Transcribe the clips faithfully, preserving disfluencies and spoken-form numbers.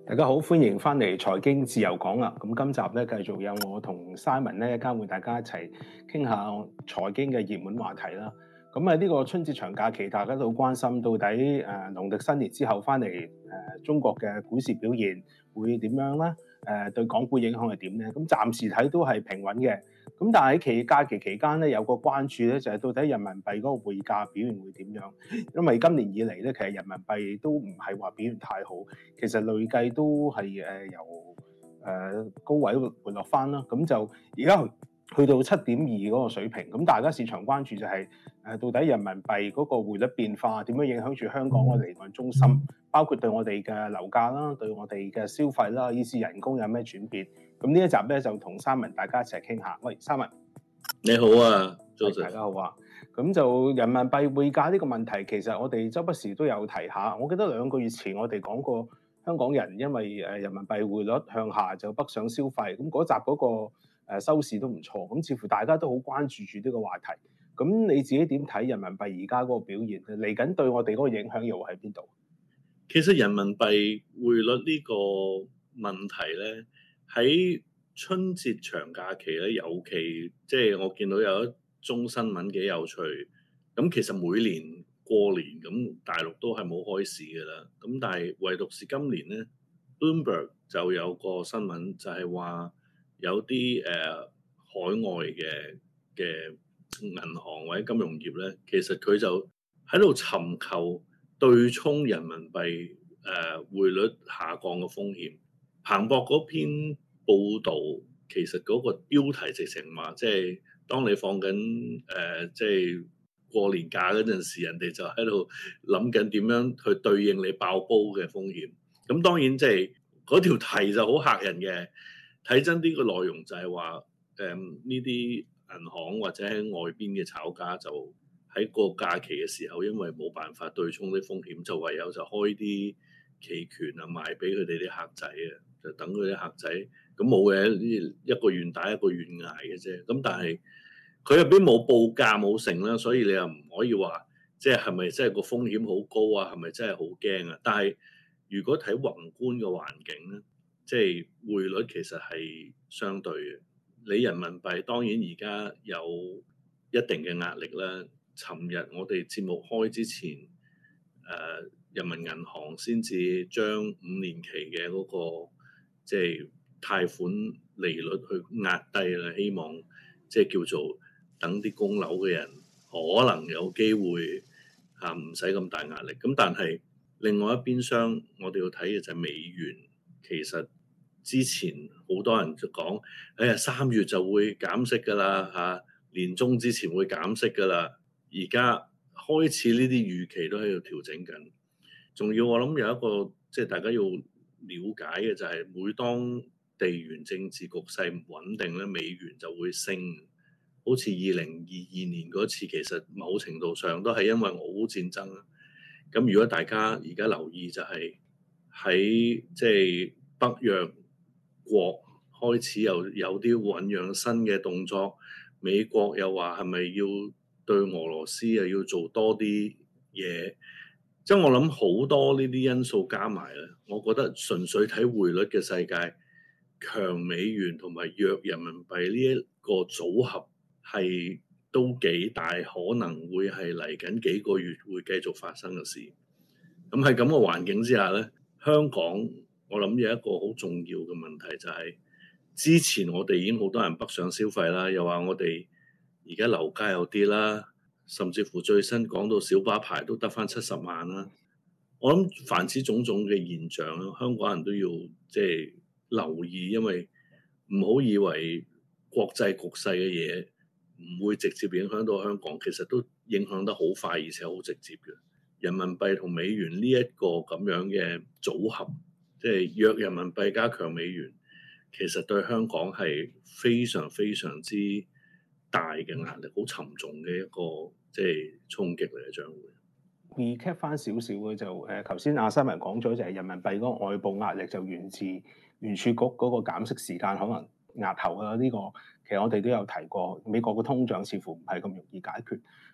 大家好，歡迎翻嚟財經自由講啊！咁今集咧繼續有我同 Simon 咧，交換大家一齊傾下財經嘅熱門話題啦。咁啊，呢個春節長假期，大家都好關心，到底誒農曆新年之後翻嚟誒中國嘅股市表現會點樣啦？誒、呃、對港股影響係點咧？咁暫時睇都係平穩嘅。咁但係喺期假期期間咧，有個關注咧，就係、是、到底人民幣嗰個匯價表現會點樣？因為今年以嚟咧，其實人民幣都唔係話表現太好，其實累計都係誒由誒高位回落翻啦。咁就而家去到七點二嗰個水平。咁大家市場關注就係、是、誒到底人民幣嗰個匯率變化點樣影響住香港嘅離岸中心，包括對我哋嘅樓價啦，對我哋嘅消費啦，以至人工有咩轉變。咁呢一集咧就同三文大家一齊傾下。喂，三文， 你好啊，早晨， 大家好啊。咁就人民幣匯價呢個問題，其實我哋周不時都有提下。我記得兩個月前我哋講過，香港人因為誒人民幣匯率向下就北上消費，咁嗰集嗰個誒收視都唔錯。咁似乎大家都好關注住呢個話題。咁你自己點睇人民幣而家嗰個表現？嚟緊對我哋嗰個影響又喺邊度？ 其實人民幣匯率呢個問題咧，喺春節長假期咧，尤其即係我見到有一宗新聞幾有趣。咁其實每年過年咁大陸都係冇開市嘅啦。咁但係唯獨是今年咧 ，Bloomberg 就有個新聞就係話有啲誒、呃、海外嘅嘅銀行或者金融業咧，其實佢就喺度尋求對沖人民幣誒、呃、匯率下降嘅風險。彭博嗰篇報導其實嗰個標題直情話，即係當你放緊誒、呃、即係過年假嗰陣時，人哋就喺度諗緊點樣去對應你爆煲嘅風險。咁當然即係嗰條題就好嚇人嘅。睇真啲個內容就係話誒呢啲銀行或者喺外邊嘅炒家就喺個假期嘅時候，因為冇辦法對沖啲風險，就唯有就開啲期權啊賣俾佢哋啲客仔啊，就等佢啲客仔咁冇嘅，呢一個願打一個願挨嘅啫。咁但係佢入邊冇報價冇成啦，所以你又唔可以話即係係咪真係個風險好高啊？係咪真係好驚啊？但係如果睇宏觀嘅環境咧，即係匯率其實係相對嘅。你人民幣當然而家有一定嘅壓力啦。尋日我哋節目開之前，誒、呃、人民銀行先至將五年期嘅嗰、那個即係貸款利率去壓低啦，希望即係叫做等啲供樓嘅人可能有機會嚇唔使咁大壓力。咁但係另外一邊廂，我哋要睇嘅就係美元。其實之前好多人就講，哎呀三月就會減息㗎啦嚇，年中之前會減息㗎啦。而家開始呢啲預期都喺度調整緊。仲要我諗有一個即係大家要了解嘅就係，每當地緣政治局勢唔穩定咧，美元就會升。好似二零二二年嗰次，其實某程度上都係因為俄烏戰爭啦。咁如果大家而家留意就係喺即係北約國開始又有啲醖釀新嘅動作，美國又話係咪要對俄羅斯又要做多啲嘢？即係我諗好多呢啲因素加埋咧，我覺得純粹睇匯率嘅世界，強美元同埋弱人民幣呢一個組合係都幾大可能會係嚟緊幾個月會繼續發生嘅事。咁喺咁嘅環境之下咧，香港我諗有一個好重要嘅問題就係，之前我哋已經好多人北上消費啦，又話我哋而家樓價有啲啦，甚至乎最新講到小巴牌都得返七十萬啦。我諗凡此種種嘅現象咧，香港人都要即係留意，因為唔好以為國際局勢嘅嘢唔會直接影響到香港，其實都影響得好快，而且好直接嘅。人民幣同美元呢一個咁樣嘅組合，即係弱人民幣加強美元，其實對香港係非常非常之大嘅壓力，好沉重嘅一個即係衝擊嚟嘅將會。 recap 翻少少嘅就誒，頭先阿三文講咗就係人民幣嗰個外部壓力就源自聯儲局嗰個減息時間可能押後啊。呢個其實我哋都有提過，美國嘅通脹似乎唔係咁容易解決。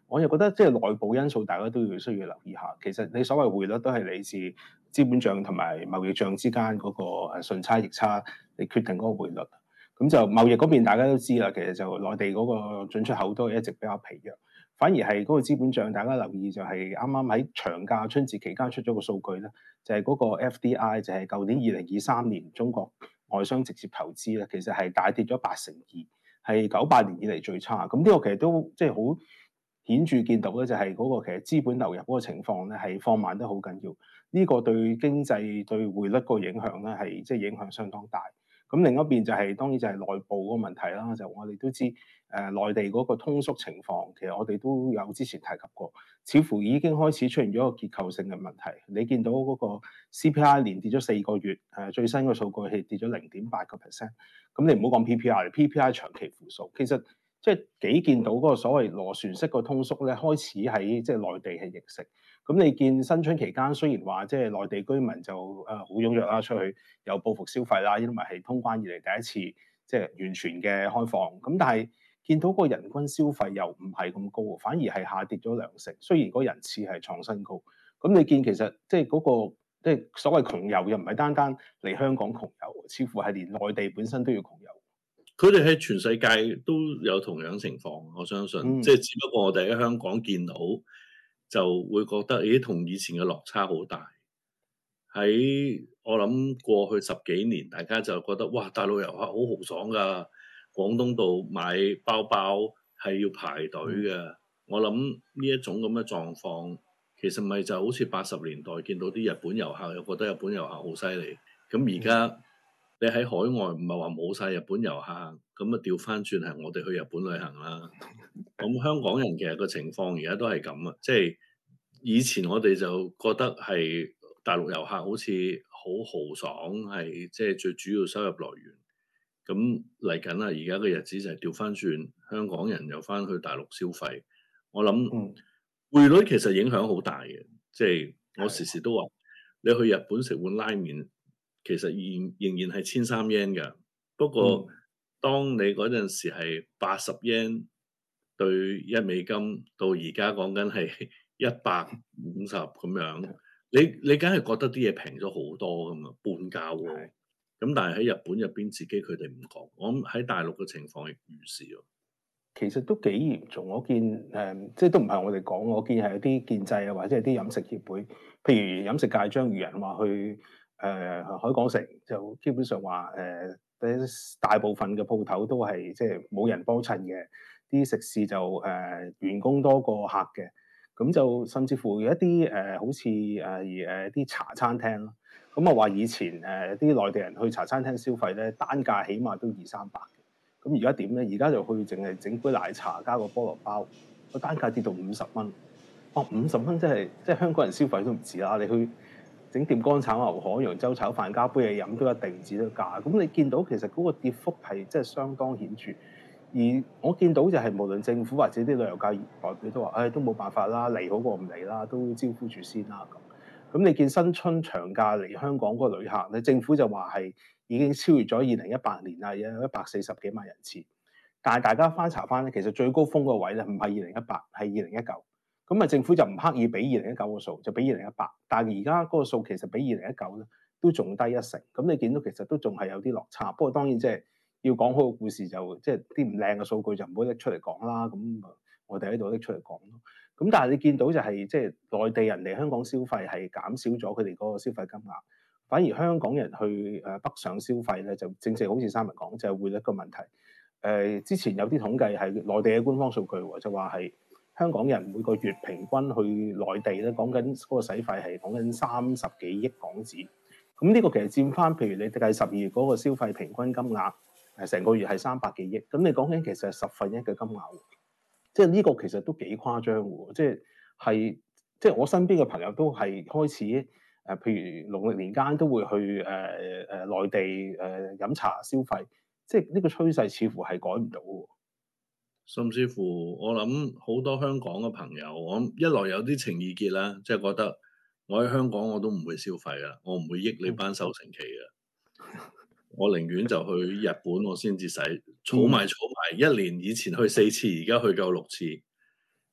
我又覺得即係內部因素，大家都要需要留意下。其實你所謂匯率都係嚟自資本帳同埋貿易帳之間嗰個誒順差逆差，你決定嗰個匯率。咁就貿易嗰邊大家都知啦，其實就內地嗰個進出口都係一直比較疲弱，反而係嗰個資本帳，大家留意就係啱啱喺長假春節期間出咗個數據咧，就係、是、嗰個 F D I 就係舊年二零二三年中國外商直接投資咧，其實係大跌咗八成二，係九八年以嚟最差。咁呢個其實都即係好顯著見到咧，就係嗰個其實資本流入嗰個情況咧係放慢得好緊要。呢、這個對經濟對匯率個影響咧係即係影響相當大。咁另一邊就係、是、當然就係內部嗰個問題啦，就我哋都知誒、呃、內地嗰個通縮情況，其實我哋都有之前提及過，似乎已經開始出現咗一個結構性嘅問題。你見到嗰個 C P I 連跌咗四個月，誒、呃、最新嘅數據係跌咗零點八個 percent。咁你唔好講 P P I，P P I 長期負數，其實即係幾見到嗰個所謂螺旋式個通縮咧，開始喺即係內地係形成。咁你見新春期間雖然話即係內地居民就誒好踴躍啦，出去有報復消費啦，因為係通關以嚟第一次即係完全嘅開放。咁但係見到個人均消費又唔係咁高，反而係下跌咗兩成。雖然嗰人次係創新高，咁你見其實即係嗰個即係所謂窮遊又唔係單單嚟香港窮遊，似乎係連內地本身都要窮遊。 佢哋喺全世界都有同樣情況，我相信，嗯、即係只不過我哋喺香港見到。就會覺得，咦，同以前嘅落差好大。喺我諗過去十幾年，大家就覺得，哇，大陸遊客好豪爽㗎，廣東道買包包係要排隊嘅。嗯、我諗呢一種咁嘅狀況，其實咪就好似八十年代見到啲日本遊客，又覺得日本遊客好犀利。咁而家你喺海外唔係話冇晒日本遊客，咁啊調翻轉係我哋去日本旅行啦。咁香港人其實個情況而家都係咁啊，即係以前我哋就覺得係大陸遊客好似好豪爽，係即係最主要收入來源。咁嚟緊啦，而家嘅日子就係調翻轉，香港人又翻去大陸消費。我諗匯率其實影響好大嘅，即係我時時都話，你去日本食碗拉麵，其實仍仍然係千三 yen 㗎。不過當你嗰陣時係八十 yen。對一美金到而家講緊係一百五十咁樣，你你梗係覺得啲嘢平咗好多噶嘛，半價喎。咁的但係喺日本入邊自己佢哋唔講，我諗喺大陸嘅情況亦如是喎。 其實都幾嚴重，我見誒、嗯，即係都唔係我哋講，我見係有啲建制啊，或者係啲飲食協會，譬如飲食界張宇人話去誒、呃、海港城，就基本上話誒、呃，大部分嘅鋪頭都係即係冇人幫襯嘅。啲食肆就誒、呃、員工多過客嘅，咁就甚至乎有一啲誒、呃、好似誒誒啲茶餐廳咯，咁啊話以前誒啲、呃、內地人去茶餐廳消費咧，單價起碼都二三百嘅，咁而家點咧？而家就去淨係整杯奶茶加個菠蘿包，個單價跌到五十蚊。哇！五十蚊真係即係香港人消費都唔止啦，你去整碟乾炒牛河、揚州炒飯加杯嘢飲都一定唔止得價。咁你見到其實嗰個跌幅係即係相當顯著。而我見到就係無論政府或者啲旅遊界代表都話，誒、哎、都冇辦法啦，嚟好過唔嚟啦，都招呼住先啦咁。咁你見新春長假嚟香港嗰個旅客咧，政府就話係已經超越咗二零一八年啦，有一百四十幾萬人次。但係大家翻查翻咧，其實最高峰個位咧唔係二零一八，係二零一九。咁啊，政府就唔刻意俾二零一九個數，就俾二零一八。但係而家嗰個數其實比二零一九咧都仲低一成。咁你見到其實都仲係有啲落差。不過當然即係。要講好個故事就即係啲唔靚嘅數據就唔好拎出嚟講啦，咁我哋喺度拎出嚟講咯。咁但係你見到就係即係內地人嚟香港消費係減少咗佢哋嗰個消費金額，反而香港人去誒北上消費咧就正正好似三文講就係匯率個問題。誒、呃、之前有啲統計係內地嘅官方數據喎，就話係香港人每個月平均去內地咧講緊嗰個使費係講緊三十幾億港紙。咁呢個其實佔翻譬如你計十二月嗰個消費平均金額。係成個月係三百幾億，咁你講緊其實係十分一嘅金額，即係呢個其實都幾誇張喎，即係係即係我身邊嘅朋友都係開始誒、呃，譬如農曆年間都會去誒誒、呃、內地誒飲、呃、茶消費，即係呢個趨勢似乎係改唔到喎。 甚至乎我諗好多香港嘅朋友，我一來有啲情意結啦，即係覺得我喺香港我都唔會消費噶，我唔會益你班收成期嘅。嗯我寧願就去日本，我先至使儲埋儲埋一年。以前去四次，而家去夠六次。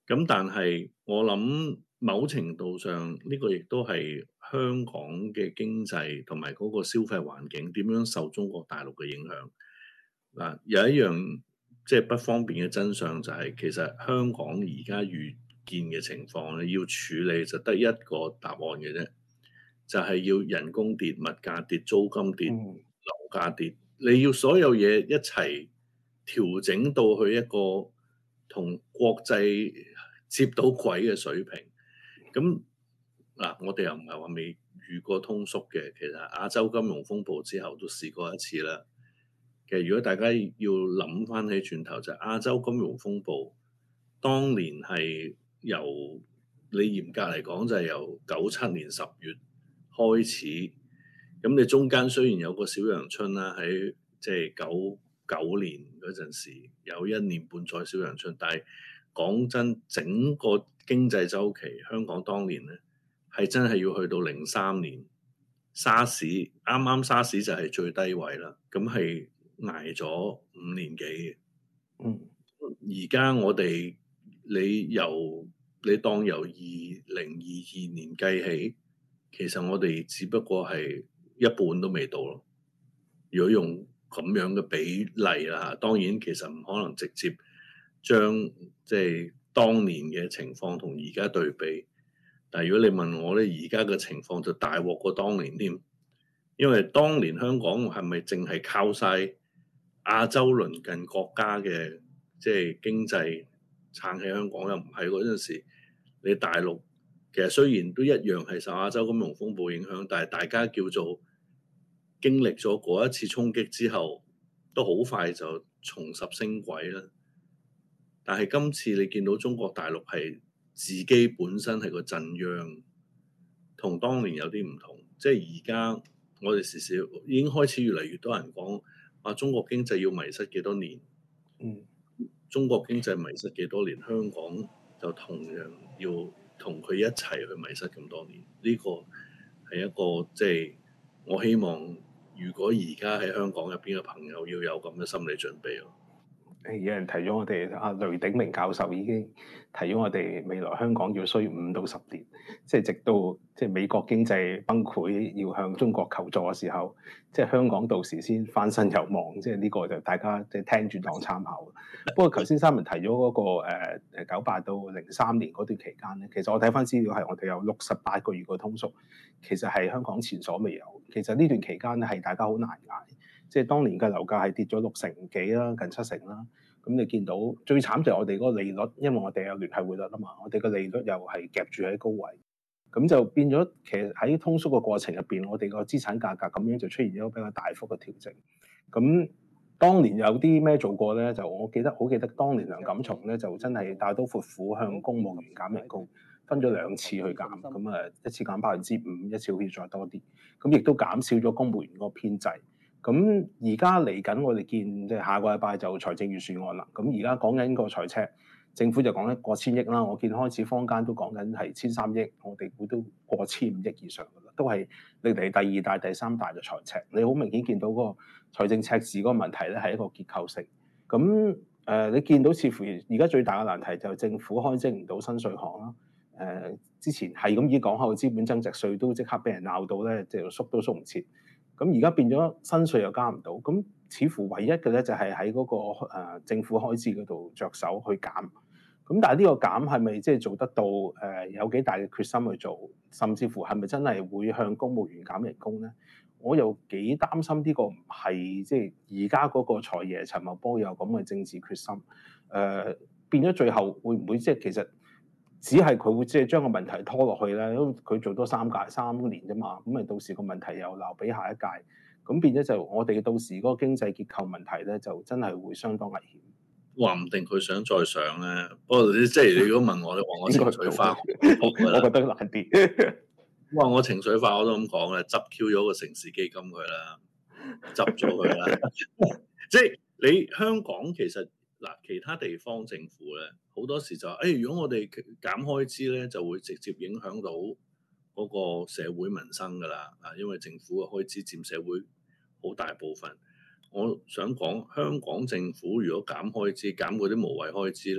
咁但係我諗某程度上呢、呢個亦都係香港嘅經濟同埋嗰個消費環境點樣受中國大陸嘅影響。嗱，有一樣即係不方便嘅真相就係、是、其實香港而家遇見嘅情況咧，要處理就得一個答案嘅啫，就係、是、要人工跌、物價跌、租金跌、 嗯樓價跌，你要所有嘢一齊調整到去一個同國際接到軌嘅水平。咁嗱，我哋又唔係話未遇過通縮嘅，其實亞洲金融風暴之後都試過一次啦。其實如果大家要諗翻起轉頭，就係、亞洲金融風暴當年係由你嚴格嚟講就係由九七年十月開始，咁你中間雖然有個小陽春啦，喺即係九九年嗰陣時有一年半載小陽春，但係講真，整個經濟周期，香港當年咧係真係要去到零三年沙士，啱啱沙士就係最低位啦，咁係捱咗五年幾嘅。 嗯， 而家我哋你由你當由二零二二年計起，其實我哋只不過係一半都未到咯。如果用咁樣嘅比例啦，當然其實唔可能直接將即係當年嘅情況同而家對比。但係如果你問我咧，而家嘅情況就大鑊過當年添，因為當年香港係咪淨係靠晒亞洲鄰近國家嘅即係經濟撐起香港？又唔係嗰陣時，你大陸其實雖然都一樣係受亞洲金融風暴影響，但係大家叫做經歷咗嗰一次衝擊之後，都好快就重拾升軌啦。但係今次你見到中國大陸係自己本身係個震央，同當年有啲唔同。即係而家我哋時時已經開始越嚟越多人講話中國經濟要迷失幾多年。 嗯， 中國經濟迷失幾多年，香港就同樣要同佢一齊去迷失咁多年。呢、這個係一個即係我希望，如果而家喺香港入邊嘅朋友要有咁嘅心理準備咯。 誒有人提咗我哋阿雷鼎明教授已經提咗我哋未來香港要需五到十年，即係直到即係美國經濟崩潰要向中國求助嘅時候，即係香港到時先翻身有望。即係呢個就大家即係聽住當參考。不過頭先三文提咗嗰、那個誒誒九八到零三年嗰段期間咧，其實我睇翻資料係我哋有六十八個月個通縮，其實係香港前所未有。其實呢段期間咧係大家好難捱。即係當年嘅樓價係跌咗六成幾啦，近七成啦。咁你見到最慘就係我哋嗰個利率，因為我哋有聯繫匯率啊嘛，我哋個利率又係夾住喺高位，咁就變咗其實喺通縮嘅過程入邊，我哋個資產價格咁樣就出現咗比較大幅嘅調整。咁當年有啲咩做過咧？就我記得好記得，當年梁錦松咧就真係大刀闊斧向公務員減人工，分咗兩次去減，咁啊一次減百分之五，一次好似再多啲，咁亦都減少咗公務員嗰個編制。咁而家嚟緊，我哋見即係下個禮拜就財政預算案啦。咁而家講緊個財赤，政府就講緊過千億啦。我見開始坊間都講緊係千三億，我哋估都過千五億以上噶啦，都係歷嚟第二大、第三大嘅財赤。你好明顯見到嗰個財政赤字嗰個問題咧，係一個結構性。咁誒、呃，你見到似乎而家最大嘅難題就係政府開徵唔到新稅項啦。誒、呃，之前係咁已講開個資本增值稅都即刻俾人鬧到咧，即係縮都縮唔切。咁而家變咗新稅又加唔到，咁似乎唯一嘅咧就係喺嗰個、呃、政府開支嗰度着手去減。咁但係呢個減係咪即係做得到？誒、呃、有幾大嘅決心去做，甚至乎係咪真係會向公務員減人工咧？我又幾擔心呢個唔係即係而家嗰個財爺陳茂波有咁嘅政治決心。誒、呃、變咗最後會唔會即係其實？只係佢會即係將個問題拖落去咧，因為佢做多三屆三年啫嘛，咁咪到時個問題又留俾下一屆，咁變咗就我哋到時嗰個經濟結構問題咧，就真係會相當危險。 話唔定佢想再上咧，不過即係你如果問我，你話我情緒化， 我覺得難啲。 哇！我情緒化我都咁講咧，執 Q 咗個城市基金佢啦，執咗佢啦。即係你香港其實。嗱，其他地方政府咧，好多時就話，誒、哎，如果我哋減開支咧，就會直接影響到嗰個社會民生噶啦。啊，因為政府嘅開支佔社會好大部分。我想講，香港政府如果減開支，減嗰啲無謂開支咧，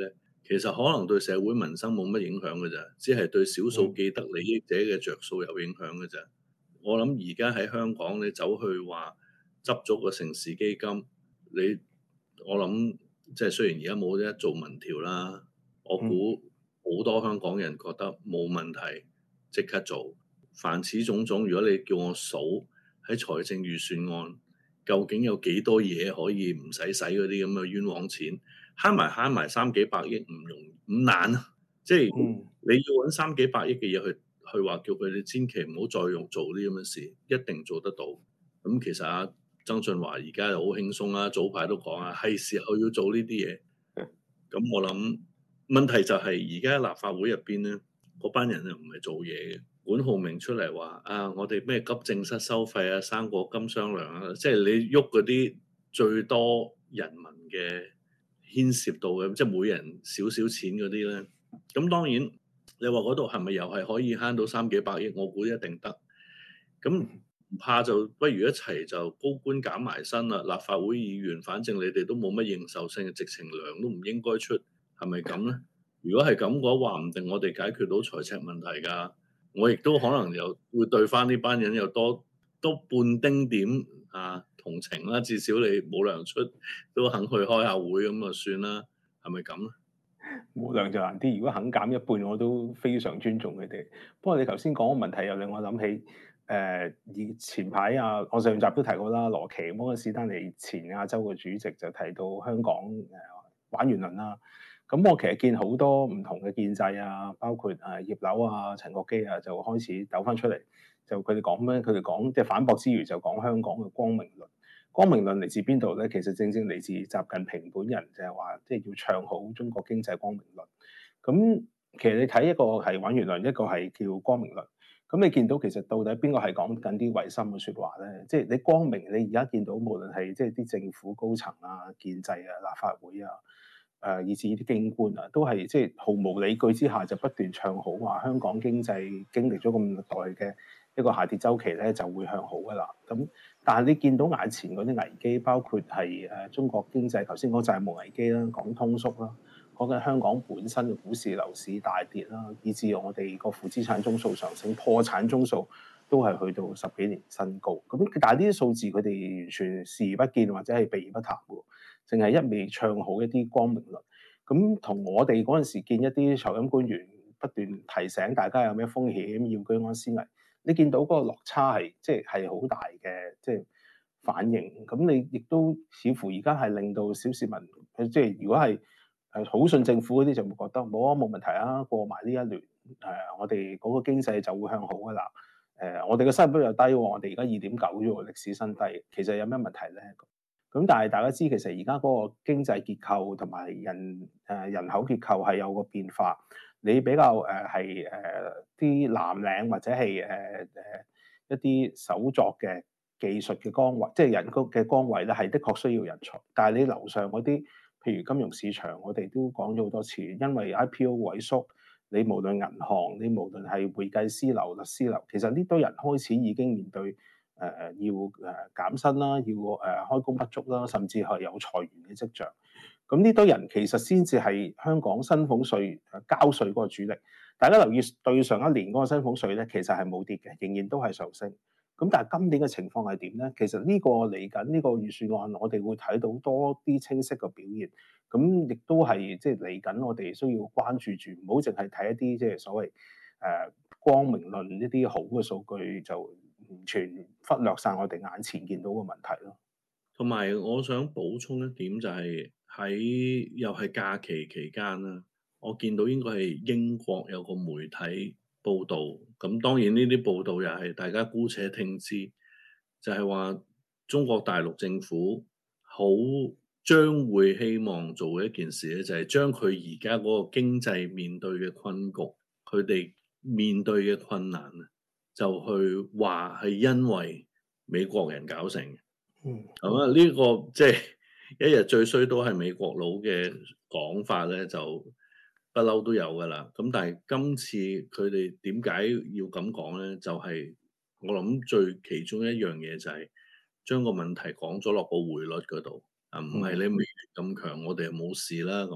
其實可能對社會民生冇乜影響嘅咋，只係對少數既得利益者嘅着數有影響嘅咋。我諗而家喺香港，你走去話執咗個城市基金，你我諗即係雖然而家冇得做民調啦，我估好多香港人覺得冇問題，即刻做。凡此種種，如果你叫我數喺財政預算案，究竟有幾多嘢可以唔使使嗰啲咁嘅冤枉錢，慳埋慳埋三幾百億唔容唔難啊！即係你要揾三幾百億嘅嘢去去話叫佢哋千祈唔好再用做啲咁嘅事，一定做得到。咁其實啊，曾俊華而家又好輕鬆啦，早排都講啊，係時候要做呢啲嘢。咁我諗問題就係而家立法會入邊咧，嗰班人又唔係做嘢嘅。管浩明出嚟話啊，我哋咩急症室收費啊、生果金商量啊，即係你喐嗰啲最多人民嘅牽涉到嘅，即係每人少少錢嗰啲咧。咁當然你話嗰度係咪又係可以慳到三幾百億？我估一定得。咁唔怕就不如一齊就高官減埋薪啦。立法會議員反正你哋都冇乜認受性，直情糧都唔應該出，係咪咁咧？如果係咁嘅話，話唔定我哋解決到財赤問題㗎。我亦都可能又會對翻呢班人有多多半丁點啊同情啦。至少你冇糧出都肯去開下會咁就算啦，係咪咁咧？ 冇糧就難啲，如果肯減一半，我都非常尊重佢哋。不過你頭先講個問題又令我諗起，誒以前排啊，我上集都提過啦，羅奇摩根士丹利前亞洲嘅主席就提到香港誒、呃、玩完輪啦。咁我其實見好多唔同嘅建制啊，包括誒葉劉啊、陳國基啊，就開始抖翻出嚟，就佢哋講咩？佢哋講即係反駁之餘，就講香港嘅光明論。光明論嚟自邊度咧？其實正正嚟自習近平本人，就係話即係要唱好中國經濟光明論。咁其實你睇一個係玩完論，一個係叫光明論。咁你見到其實到底邊個係講緊啲違心嘅説話咧？即係你光明，你而家見到無論係即係啲政府高層啊、建制啊、立法會啊。誒、呃，以至呢啲京官啊，都係即係毫無理據之下就不斷唱好話香港經濟經歷咗咁耐嘅一個下跌周期咧，就會向好噶啦。咁但係你見到眼前嗰啲危機，包括係誒、呃、中國經濟頭先講債務危機啦，講通縮啦，講緊香港本身嘅股市樓市大跌啦，以至我哋個負資產宗數上升，破產宗數都係去到十幾年新高。咁但係呢啲數字佢哋完全視而不見或者係避而不談喎。淨係一味唱好一啲光明論，咁同我哋嗰陣時見一啲財金官員不斷提醒大家有咩風險要居安思危，你見到嗰個落差係即係係好大嘅即係反應。咁你亦都似乎而家係令到小市民，即係如果係誒好信政府嗰啲就會覺得冇啊冇問題啊，過埋呢一輪誒、呃，我哋嗰個經濟就會向好噶啦。誒、呃，我哋嘅失業率又低喎，我哋而家二點九啫喎，歷史新低。其實有咩問題咧？咁但係大家知，其實而家嗰個經濟結構同埋人誒、呃、人口結構係有個變化。你比較誒係誒啲藍領或者係誒誒一啲手作嘅技術嘅崗位，即係人工嘅崗位咧，係的確需要人才。但係你樓上嗰啲，譬如金融市場，我哋都講咗好多次，因為 I P O 萎縮，你無論銀行，你無論係會計師樓、律師樓，其實呢堆人開始已經面對。誒誒、呃、要誒減薪啦，要誒、呃、開工不足啦，甚至係有裁員嘅跡象。咁呢堆人其實先至係香港薪俸稅誒交稅嗰個主力。大家留意對上一年嗰個薪俸稅咧，其實係冇跌嘅，仍然都係上升。咁但係今年嘅情況係點咧？其實呢個嚟緊呢個預算案，我哋會睇到多啲清晰嘅表現。咁亦都係即係嚟緊，我哋需要關注住，唔好淨係睇一啲即係所謂誒、呃、光明論一啲好嘅數據就。完全忽略晒我哋眼前見到嘅問題咯。 同埋我想補充一點就係喺又係假期期間啦，我見到應該係英國有個媒體報導，咁當然呢啲報導又係大家姑且聽之，就係話中國大陸政府好將會希望做嘅一件事咧，就係將佢而家嗰個經濟面對嘅困局，佢哋面對嘅困難啊，就去話係因為美國人搞成嘅。嗯，咁啊呢個即係一日最衰都係美國佬嘅講法咧，就不嬲都有噶啦。咁但係今次佢哋點解要咁講咧？就係、是、我諗最其中一樣嘢就係將個問題講咗落個匯率嗰度啊，唔係你美元咁強，我哋就冇事啦咁。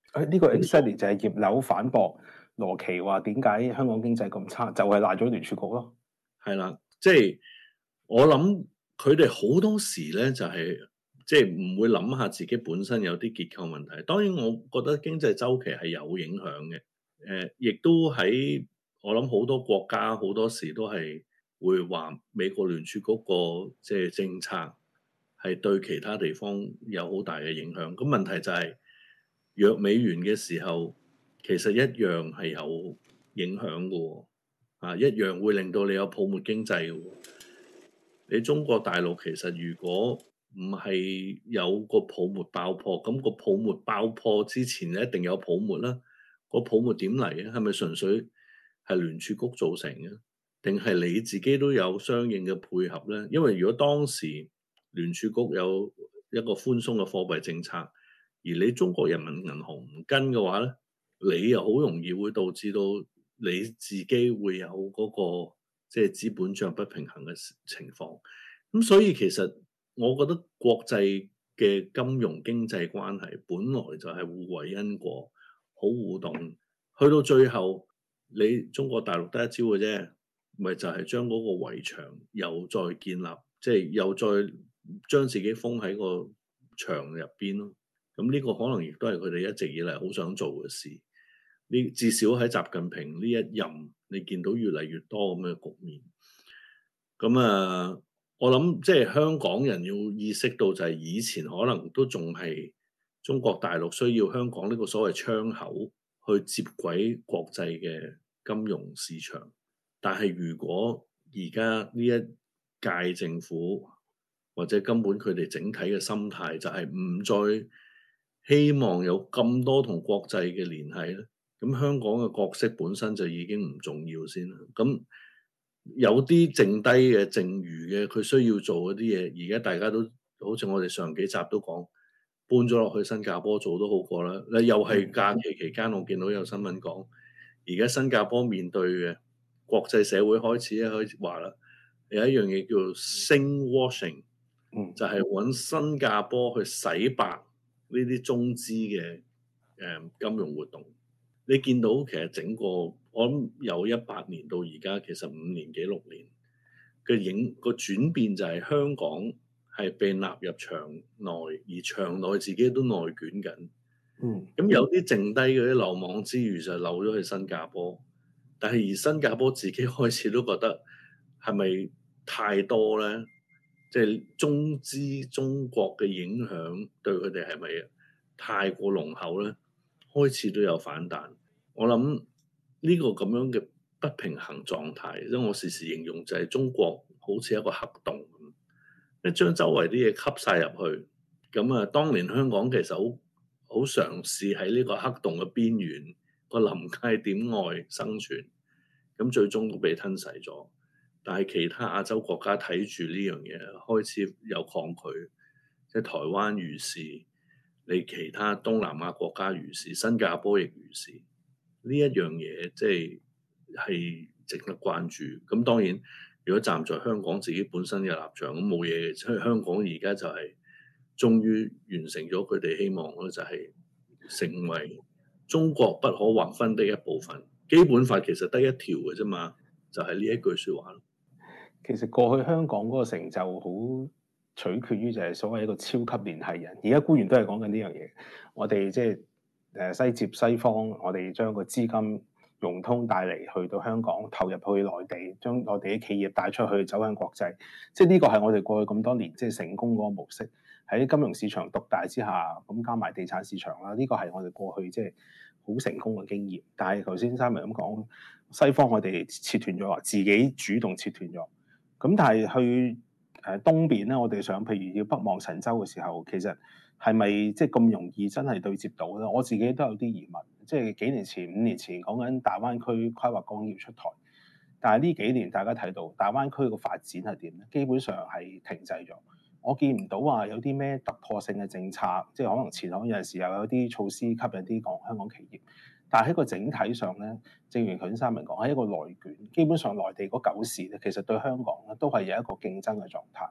誒呢個 exactly 就係葉劉反駁羅奇話點解香港經濟咁差，就係賴咗聯儲局咯。 係啦，即係我諗佢哋好多時咧就係即係唔會諗下自己本身有啲結構問題。當然我覺得經濟周期係有影響嘅，誒、呃，亦都喺我諗好多國家好多時都係會話美國聯儲局個即係政策係對其他地方有好大嘅影響。咁問題就係弱美元嘅時候，其實一樣係有影響嘅喎。啊，一樣會令到你有泡沫經濟嘅喎。你中國大陸其實如果唔係有個泡沫爆破，咁個泡沫爆破之前一定有泡沫啦。個泡沫點嚟嘅？係咪純粹係聯儲局造成嘅？定係你自己都有相應嘅配合咧？因為如果當時聯儲局有一個寬鬆嘅貨幣政策，而你中國人民銀行唔跟嘅話咧，你又好容易會導致到你自己會有嗰個即係資本帳不平衡嘅情況。咁所以其實我覺得國際嘅金融經濟關係本來就係互為因果，好互動。去到最後，你中國大陸得一招嘅啫，咪就係將嗰個圍牆又再建立，即係又再將自己封喺個牆入邊咯。咁呢個可能亦都係佢哋一直以嚟好想做嘅事。呢至少喺習近平呢一任，你見到越嚟越多咁嘅局面。咁啊，我諗即係香港人要意識到就係以前可能都仲係中國大陸需要香港呢個所謂窗口去接軌國際嘅金融市場。但係如果而家呢一屆政府或者根本佢哋整體嘅心態就係唔再希望有咁多同國際嘅聯繫咧，咁香港嘅角色本身就已經唔重要先啦。咁有啲剩低嘅剩餘嘅，佢需要做嗰啲嘢，而家大家都好似我哋上幾集都講，搬咗落去新加坡做都好過啦。你又係假期期間，我見到有新聞講，而家新加坡面對嘅國際社會開始咧開始話啦，有一樣嘢叫做 sink washing， 嗯， 就係揾新加坡去洗白呢啲中資嘅誒金融活動。你見到其實整個我諗由一八年到而家，其實五年幾六年嘅影個轉變就係香港係被納入場內，而場內自己都內捲緊。 嗯， 咁有啲剩低嗰啲漏網之魚就漏咗去新加坡，但係而新加坡自己開始都覺得係咪太多咧？即係中資中國嘅影響對佢哋係咪太過濃厚咧？開始都有反彈。我諗呢個咁樣嘅不平衡狀態，因為我時時形容就係中國好似一個黑洞咁，一將周圍啲嘢吸晒入去。咁啊，當年香港其實好好嘗試喺呢個黑洞嘅邊緣個臨界點外生存，咁最終都被吞噬咗。但係其他亞洲國家睇住呢樣嘢，開始有抗拒，即係台灣如是，你其他東南亞國家如是，新加坡亦如是。呢一樣嘢即係係值得關注。咁當然，如果站在香港自己本身嘅立場，咁冇嘢嘅。因為香港而家就係終於完成咗佢哋希望咯，就係成為中國不可劃分的一部分。基本法其實得一條嘅啫嘛，就係呢一句説話咯。 其實過去香港嗰個成就好取決於就係所謂一個超級聯繫人。而家官員都係講緊呢樣嘢。我哋即係誒西接西方，我哋將個資金融通帶嚟去到香港，投入去內地，將我哋啲企業帶出去走向國際。即係呢個係我哋過去咁多年即係成功嗰個模式。喺金融市場獨大之下，咁加埋地產市場啦，呢個係我哋過去即係好成功嘅經驗。但係頭先三文咁講，西方我哋切斷咗，話自己主動切斷咗。咁但係去誒東邊咧，我哋想譬如要北望神州嘅時候，其實係咪即係咁容易真係對接到咧？我自己都有啲疑問。即係幾年前、五年前講緊大灣區規劃綱要出台，但係呢幾年大家睇到大灣區個發展係點咧？基本上係停滯咗。我見唔到話有啲咩突破性嘅政策，即係可能前行有陣時又有啲措施吸引啲港香港企業。但係喺個整體上咧，正如頭先三文講，係一個內卷。基本上內地嗰九市咧，其實對香港咧都係有一個競爭嘅狀態。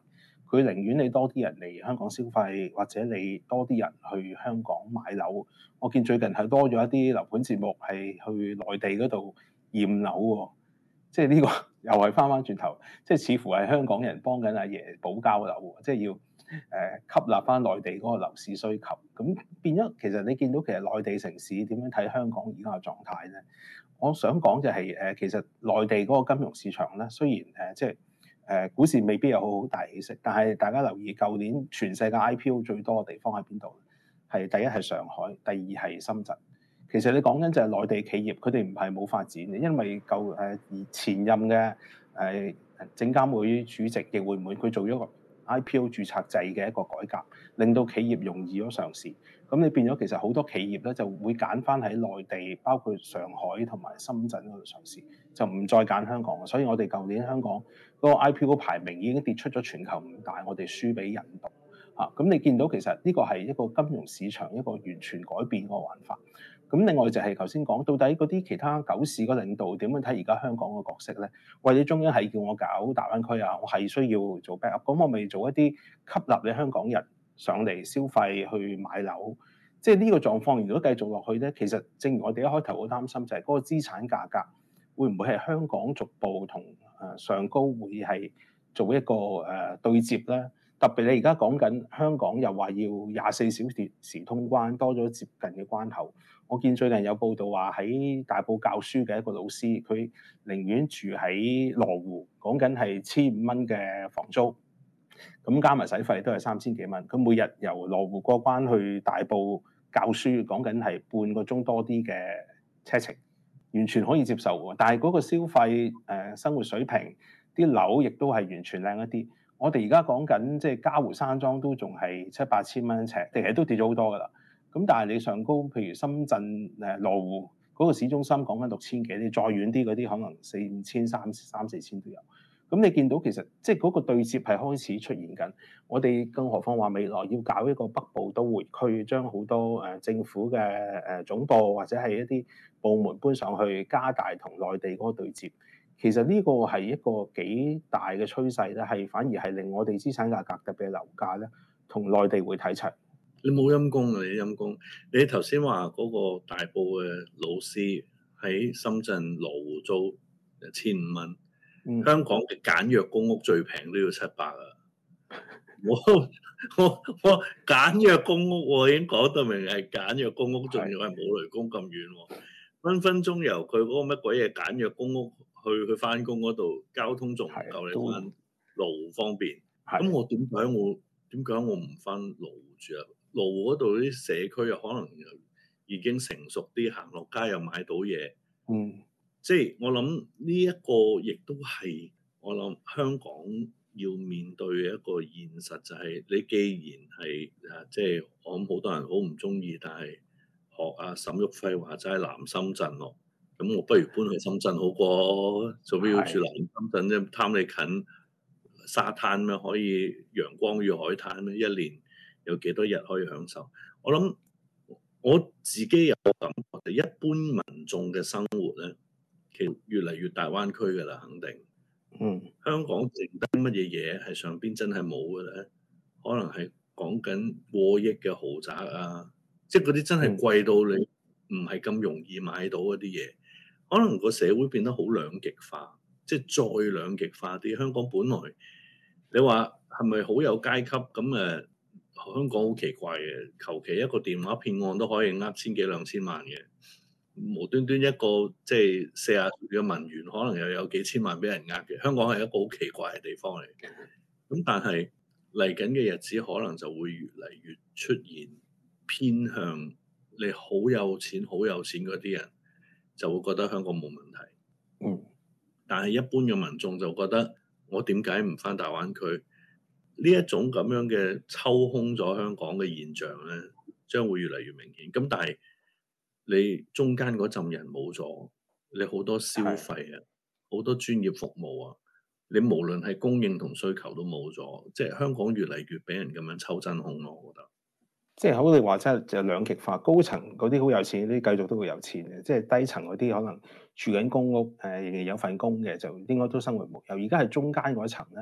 佢寧願你多啲人嚟香港消費，或者你多啲人去香港買樓。我見最近係多咗一啲樓盤節目係去內地嗰度驗樓喎，即係呢個又係翻翻轉頭，即係似乎係香港人幫緊阿爺保交樓喎，即係要誒、呃、吸納翻內地嗰個樓市需求。咁變咗其實你見到其實內地城市點樣睇香港而家嘅狀態咧？我想講就係、是、誒，其實內地嗰個金融市場咧，雖然誒、呃、即係誒、呃、股市未必有好大起色，但係大家留意舊年全世界 I P O 最多嘅地方喺邊度？係第一係上海，第二係深圳。其實你講緊就係內地企業，佢哋唔係冇發展嘅，因為舊誒、呃、前任嘅誒證監會主席易會滿，佢做咗個 I P O 註冊制嘅一個改革，令到企業容易咗上市。咁你變咗其實好多企業咧就會揀翻喺內地，包括上海同埋深圳嗰度上市，就唔再揀香港。所以我哋舊年香港嗰個 I P O 排名已經跌出咗全球五大，我哋輸俾印度。啊，咁你見到其實呢個係一個金融市場一個完全改變個玩法。咁另外就係頭先講，到底嗰啲其他九市個領導點樣睇而家香港個角色咧？或者中央係叫我搞大灣區啊，我係需要做 backup，咁我咪做一啲吸納你香港人上嚟消費去買樓。即係呢個狀況如果繼續落去咧，其實正如我哋一開頭好擔心就係嗰個資產價格會唔會係香港逐步同誒上高會係做一個誒對接咧？特別你而家講緊香港又話要廿四小時通關，多咗接近嘅關口。我見最近有報道話喺大埔教書嘅一個老師，佢寧願住喺羅湖，講緊係千五蚊嘅房租，咁加埋使費都係三千幾蚊。佢每日由羅湖過關去大埔教書，講緊係半個鐘多啲嘅車程，完全可以接受喎。但係嗰個消費誒、呃、生活水平，啲樓亦都係完全靚一啲。我哋而家講緊即係嘉湖山莊都仲係七八千蚊一尺，其實都跌咗好多噶啦。咁但係你上高，譬如深圳誒羅湖嗰個市中心講緊六千幾，你再遠啲嗰啲可能四五千、三三四千都有。咁你見到其實即係嗰個對接係開始出現緊。我哋更何況話未來要搞一個北部都會區，將好多誒政府嘅誒總部或者係一啲部門搬上去，加大同內地嗰個對接。其實呢個係一個幾大嘅趨勢咧，係反而係令我哋資產價格特別係樓價咧，同內地會睇齊。 你冇陰功啊！你陰功。你頭先話嗰個大埔嘅老師喺深圳羅湖租千五蚊，嗯、香港嘅簡約公屋最平都要七百啊！我我我簡約公屋我已經講得明係簡約公屋，仲要係冇雷公咁遠喎，分分鐘由佢嗰個乜鬼嘢簡約公屋去去翻工嗰度，交通仲唔夠你翻羅湖方便。咁我點解我點解我唔翻羅湖住啊？羅湖嗰度啲社區又可能已經成熟啲，行落街又買到嘢。 嗯， 即係我諗呢一個亦都係我諗香港要面對嘅一個現實，就係你既然係啊，即係我諗好多人好唔中意，但係學阿沈旭輝話齋南深圳咯，咁我不如搬去深圳好過，做咩要住南深圳啫？貪你近沙灘咩？可以陽光與海灘咩？一年有幾多日可以享受？我諗我自己有感覺，一般民眾嘅生活咧，其實越嚟越大灣區㗎啦，肯定。 嗯， 香港剩低乜嘢嘢係上邊真係冇嘅咧？可能係講緊過億嘅豪宅啊，即係嗰啲真係貴到你唔係咁容易買到嗰啲嘢。可能個社會變得好兩極化，即係再兩極化啲。香港本來你話係咪好有階級咁誒？香港好奇怪嘅，求其一個電話騙案都可以呃千幾兩千萬嘅，無端端一個即係四十歲嘅文員，可能又有幾千萬俾人呃嘅。香港係一個好奇怪嘅地方嚟嘅。咁但係嚟緊嘅日子，可能就會越嚟越出現偏向你好有錢、好有錢嗰啲人，就會覺得香港冇問題。 嗯， 但係一般嘅民眾就覺得，我點解唔返大灣區？呢一種咁樣嘅抽空咗香港嘅現象咧，將會越嚟越明顯。咁但係你中間嗰陣人冇咗，你好多消費啊，好多專業服務啊，你無論係供應同需求都冇咗，即係香港越嚟越俾人咁樣抽真空咯。我覺得， 即係好你話齋就兩極化，高層嗰啲好有錢，啲繼續都會有錢嘅，即係低層嗰啲可能住緊公屋，誒、呃、仍然有份工嘅，就應該都生活無憂。而家係中間嗰層咧。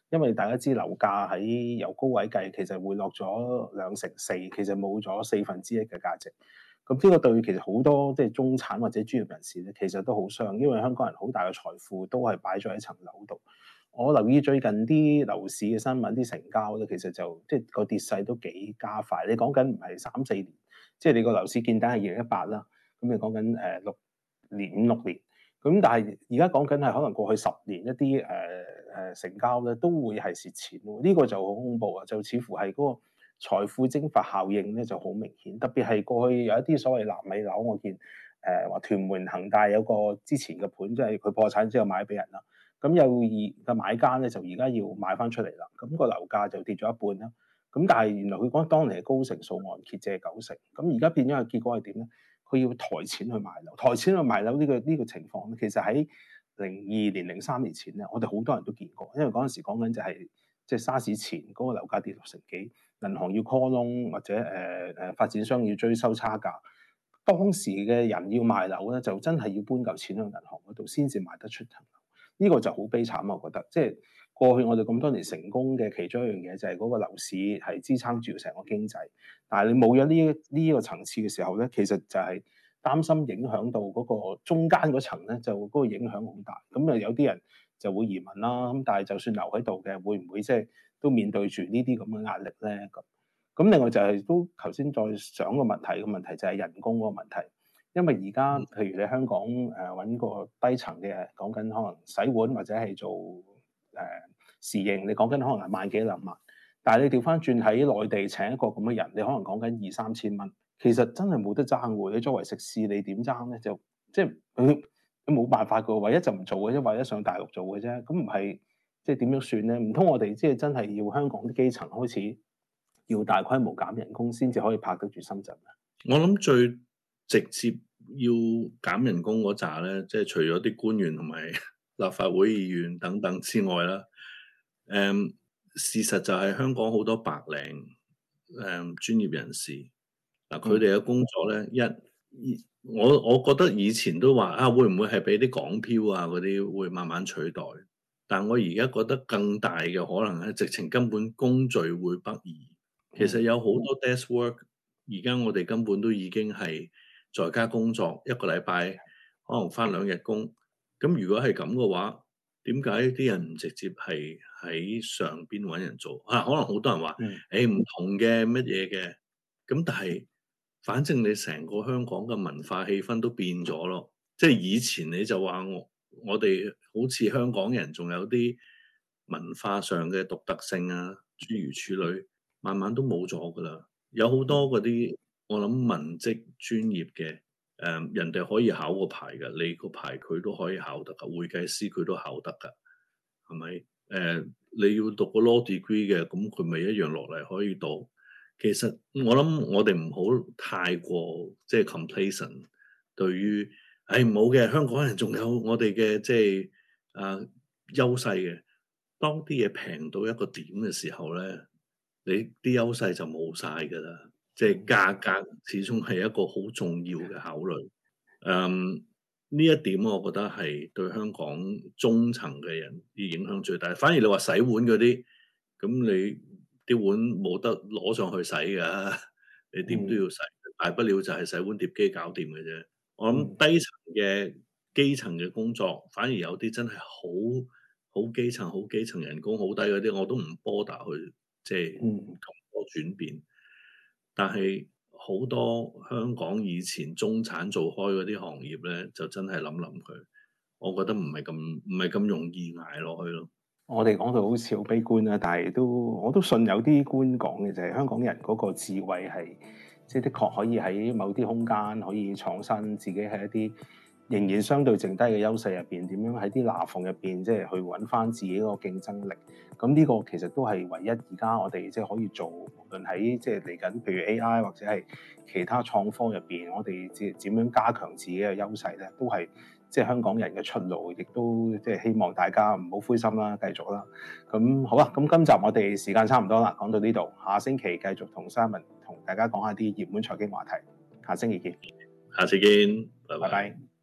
因為大家知樓價喺由高位計，其實回落咗兩成四，其實冇咗四分之一嘅價值。咁呢個對其實好多即係中產或者專業人士咧，其實都好傷，因為香港人好大嘅財富都係擺咗喺層樓度。我留意最近啲樓市嘅新聞，啲成交咧，其實就即係個跌勢都幾加快。你講緊唔係三四年，即係你個樓市見底係二零一八啦，咁你講緊誒六年五六年，咁但係而家講緊係可能過去十年一啲誒誒成交咧都會係蝕錢喎。呢個就好恐怖啊！就似乎係嗰個財富蒸發效應咧就好明顯，特別係過去有一啲所謂納米樓，我見誒話屯門恒大有個之前嘅盤，即係佢破產之後買俾人啦。咁有二嘅買家咧，就而家要買翻出嚟啦。咁個樓價就跌咗一半啦。咁但係原來佢講當年係高成數按揭借九成，咁而家變咗嘅結果係點咧？佢要抬錢去買樓，抬錢去買樓呢個呢個情況咧，其實喺零二年、零三年前咧，我哋好多人都見過，因為嗰陣時講緊就係即係沙士前嗰個樓價跌六成幾，銀行要 call loan 或者誒誒、呃、發展商要追收差價，當時嘅人要賣樓咧，就真係要搬嚿錢去銀行嗰度先至賣得出層樓。呢個就好悲慘啊！我覺得，即係過去我哋咁多年成功嘅其中一樣嘢，就係嗰個樓市係支撐住成個經濟。但係你冇咗呢呢個層次嘅時候咧，其實就係擔心影響到嗰個中間嗰層咧，就嗰個影響好大。咁啊，有啲人就會移民啦。咁但係就算留喺度嘅，會唔會即係都面對住呢啲咁嘅壓力咧？咁咁另外就係都頭先再想個問題，個問題就係人工嗰個問題。因為而家譬如你香港誒揾個低層嘅，講緊可能洗碗或者係做誒侍應，你講緊可能係萬幾兩萬，但係你調翻轉喺內地請一個咁嘅人，你可能講緊二三千蚊，其實真係冇得爭喎。你作為食肆，你點爭咧？就即係佢冇辦法㗎，唯一就唔做嘅啫，或者上大陸做嘅啫。咁唔係即係點樣算咧？唔通我哋即係真係要香港啲基層開始要大規模減人工先至可以拍得住深圳咧？ 我諗最直接要減人工嗰扎咧，即係除咗啲官員同埋立法會議員等等之外啦，誒、嗯、事實就係香港好多白領誒、嗯、專業人士嗱，佢哋嘅工作咧，一我我覺得以前都話啊，會唔會係俾啲港漂啊嗰啲會慢慢取代？但我而家覺得更大嘅可能係直情根本工序會北移。其實有好多 desk work，而家我哋根本都已經係在家工作，一個禮拜可能返兩日工。咁如果係咁嘅話，點解啲人唔直接係喺上邊揾人做啊？可能好多人話，誒唔同嘅乜嘢嘅，咁但係反正你成個香港嘅文化氣氛都變咗咯。即係以前你就話我我哋好似香港人仲有啲文化上嘅獨特性啊，諸如此類，慢慢都冇咗噶啦。有好多嗰啲我諗文職專業嘅，誒、呃、人哋可以考個牌㗎，你個牌佢都可以考得㗎，會計師佢都考得㗎，係咪？誒、呃、你要讀個 law degree 嘅，咁佢咪一樣落嚟可以讀。其實我諗我哋唔好太過即係 complacent，對於誒唔好嘅香港人仲有我哋嘅即係啊優勢嘅。當啲嘢平到一個點嘅時候咧，你啲優勢就冇晒㗎啦。即係價格始終係一個好重要嘅考慮。嗯，呢一點我覺得係對香港中層嘅人啲影響最大。反而你話洗碗嗰啲，咁你啲碗冇得攞上去洗㗎，你點都要洗。嗯、大不了就係洗碗碟機搞掂嘅啫。我諗低層嘅基層嘅工作，反而有啲真係好好基層、好基層人工好低嗰啲，我都唔 bother 去即係咁多轉變。但係好多香港以前中產做開嗰啲行業咧，就真係諗諗佢，我覺得唔係咁唔係咁容易捱落去咯。 我哋講到好似好悲觀啦，但係都我都信有啲官講嘅就係香港人嗰個智慧係，即係的確可以喺某啲空間可以創新，自己喺一啲仍然相對剩低嘅優勢入邊，點樣喺啲罅縫入邊即係去揾翻自己個競爭力。咁呢個其實都係唯一而家我哋即係可以做，無論喺即係嚟緊，譬如 A I 或者係其他創科入邊，我哋即係點樣加強自己嘅優勢咧，都係即係香港人嘅出路，亦都即係希望大家唔好灰心啦，繼續啦。咁好啦，咁今集我哋時間差唔多啦，講到呢度，下星期繼續同 Simon 同大家講下啲熱門財經話題，下星期見， 下次見，拜拜。 拜拜。